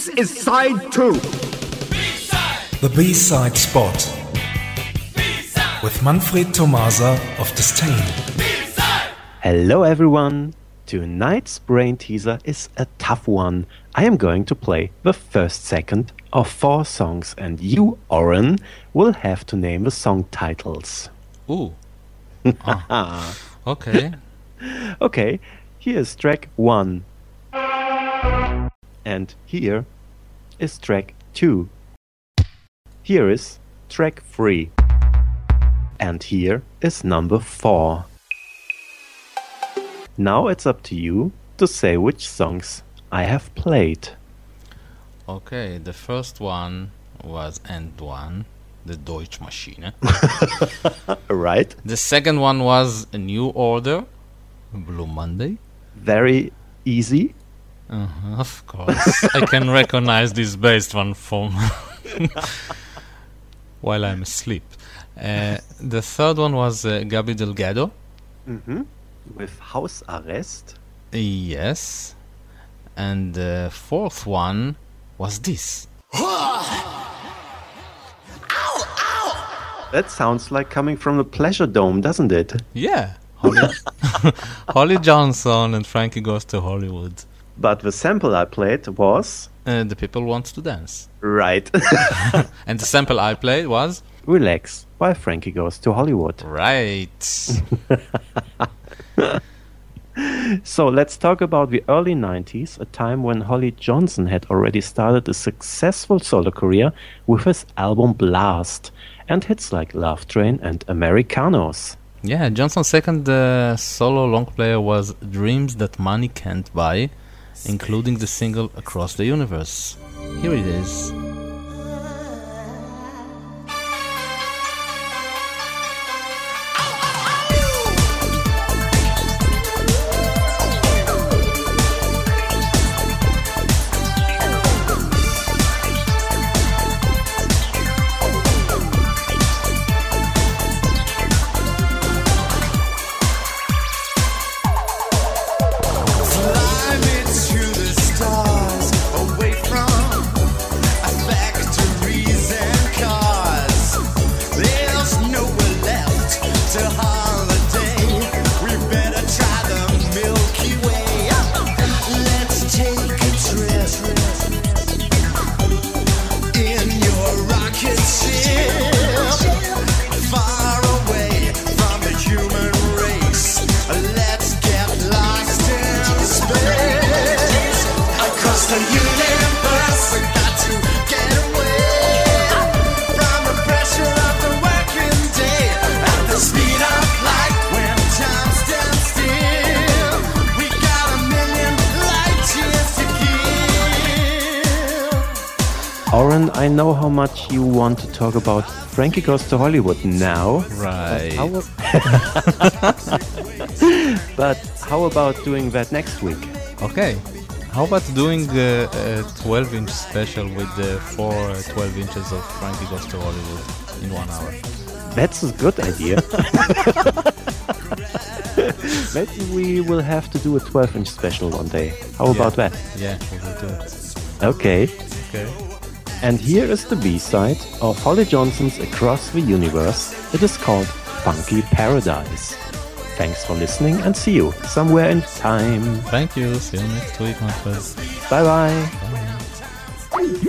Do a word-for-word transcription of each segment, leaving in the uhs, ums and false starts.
This is side two. B-side. The B-side spot. B-side. With Manfred Tomasa of Disdain. B-side. Hello everyone. Tonight's brain teaser is a tough one. I am going to play the first second of four songs and you, Oren, will have to name the song titles. Ooh. Oh. Okay. Okay, here's track one. And here is track two. Here is track three. And here is number four. Now it's up to you to say which songs I have played. Okay, the first one was End One, the Deutsche Maschine. Right. The second one was A New Order, Blue Monday. Very easy. Uh-huh, of course. I can recognize this bass one from while I'm asleep. Uh, the third one was uh, Gabi Delgado. Mm-hmm. With Hausarrest. Yes. And the fourth one was this. That sounds like coming from the Pleasure Dome, doesn't it? Yeah. Holly, Holly Johnson and Frankie Goes to Hollywood. But the sample I played was... Uh, the People Want to Dance. Right. And the sample I played was... Relax, by Frankie Goes to Hollywood. Right. So let's talk about the early nineties, a time when Holly Johnson had already started a successful solo career with his album Blast and hits like Love Train and Americanos. Yeah, Johnson's second uh, solo long player was Dreams That Money Can't Buy, including the single Across the Universe. Here it is. Oren, I know how much you want to talk about Frankie Goes to Hollywood now. Right. But how, but how about doing that next week? Okay. How about doing uh, a twelve-inch special with the four uh, twelve inches of Frankie Goes to Hollywood in one hour? That's a good idea. Maybe we will have to do a twelve-inch special one day. How Yeah. about that? Yeah, we will do it. Okay. Okay. And here is the B-side of Holly Johnson's Across the Universe. It is called Funky Paradise. Thanks for listening and see you somewhere in time. Thank you. See you next week, my friends. Bye-bye. Bye.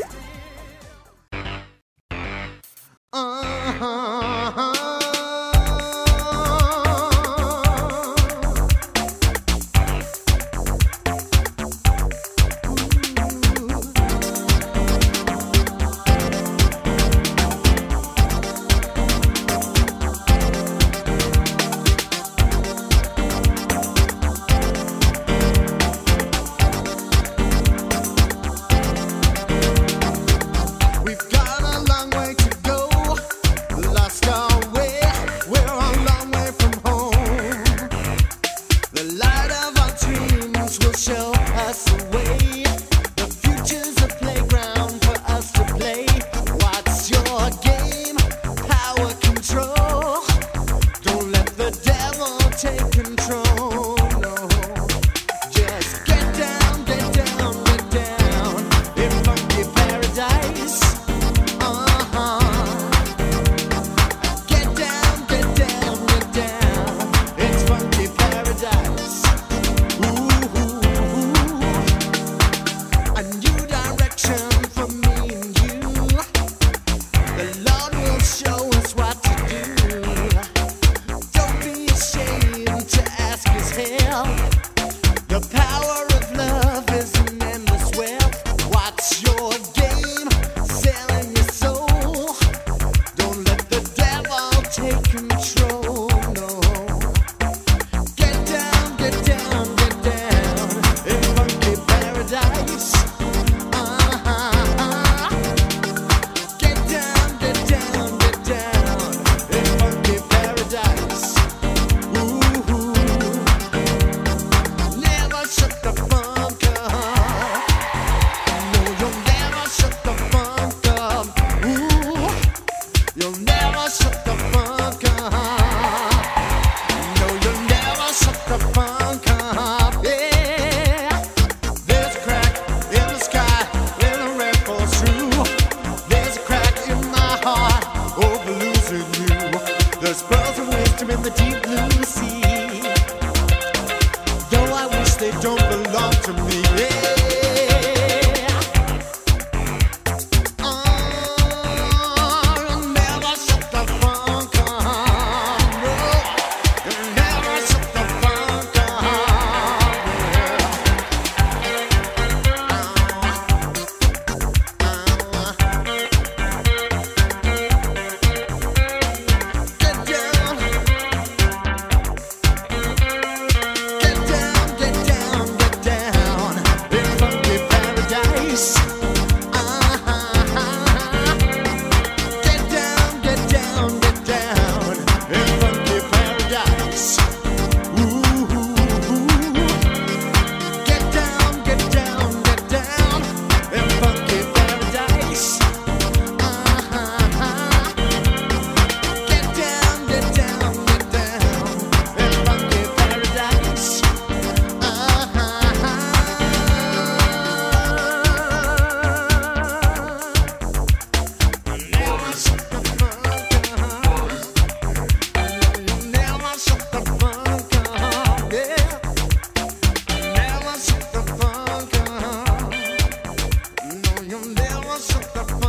wasn't the